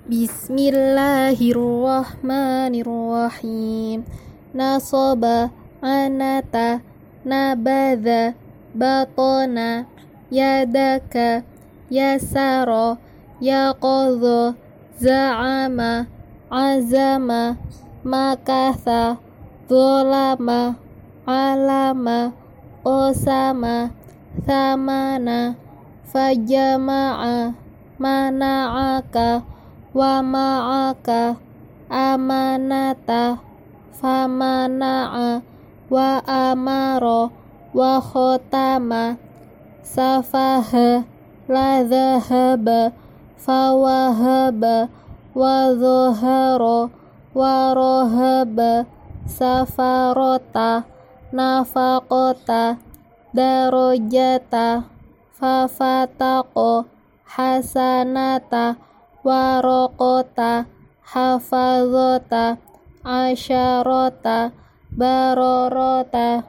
Bismillahirrahmanirrahim. Nasaba, anata, nabadha, batona, yadaka, yasara, yaqadha, za'ama, azama, makatha, dholama, alama, qasama, thamana, fajama'a, mana'aka, wa ma'aka, amanata, famana'a, wa amara, wa khotama, safaha, la dhahaba, fawahaba, wa dhohara, wa rohaba, safarota, nafaqota, darojata, fafataqo, hasanata, warokota, hafazota, asyarota, barorota,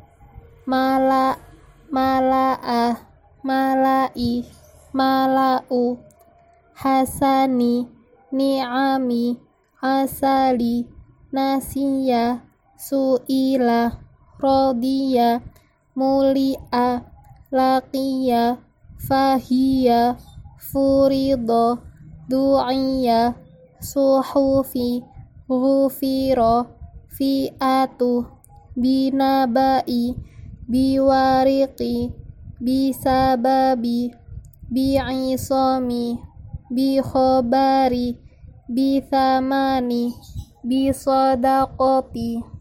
mala'a, mala'i, mala'u, hasani, ni'ami, asali, nasiya, su'ila, rodiya, muli'a, laqiya, fahiya, furido, du'iya, suhufi, ghufiro, fi'atu, binabai, biwariqi, bisababi, bi'isami, bikhobari, bithamani, bisadaqoti.